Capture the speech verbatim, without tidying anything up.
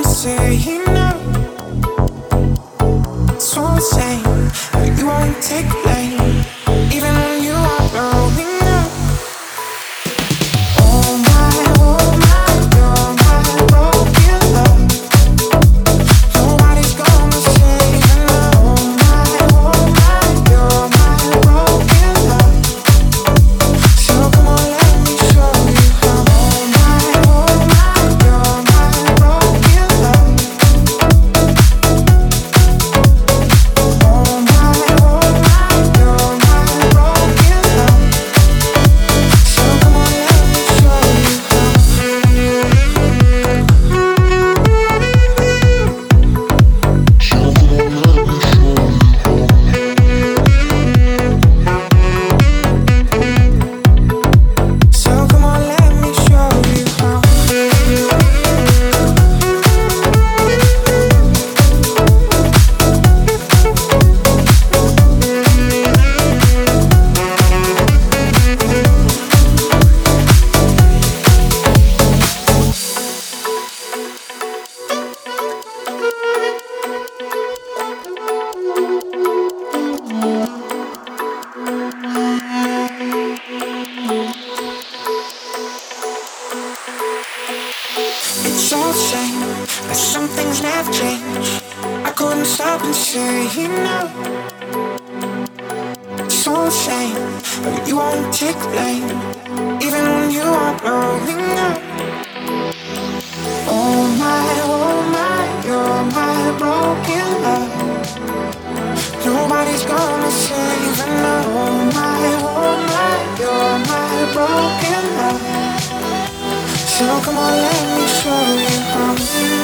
me say no. So insane, but you won't take blame, even when you are blowing up. Oh my, oh my, you're my broken love. Nobody's gonna save you now. Oh my, oh my, you're my broken love. So come on, let me show you how. Oh my, oh my, you're my broken love. Oh my, oh my, you're my broken love. So come on, let me show you how. So come on, let me show you how. It's all the same, but some things never change. I couldn't stop and say no. It's all the same, but you won't take blame, even when you are blowing up. Oh my, oh my, you're my broken love. Nobody's gonna save you now. Oh my, oh my, you're my broken love. So come on, let me show you how.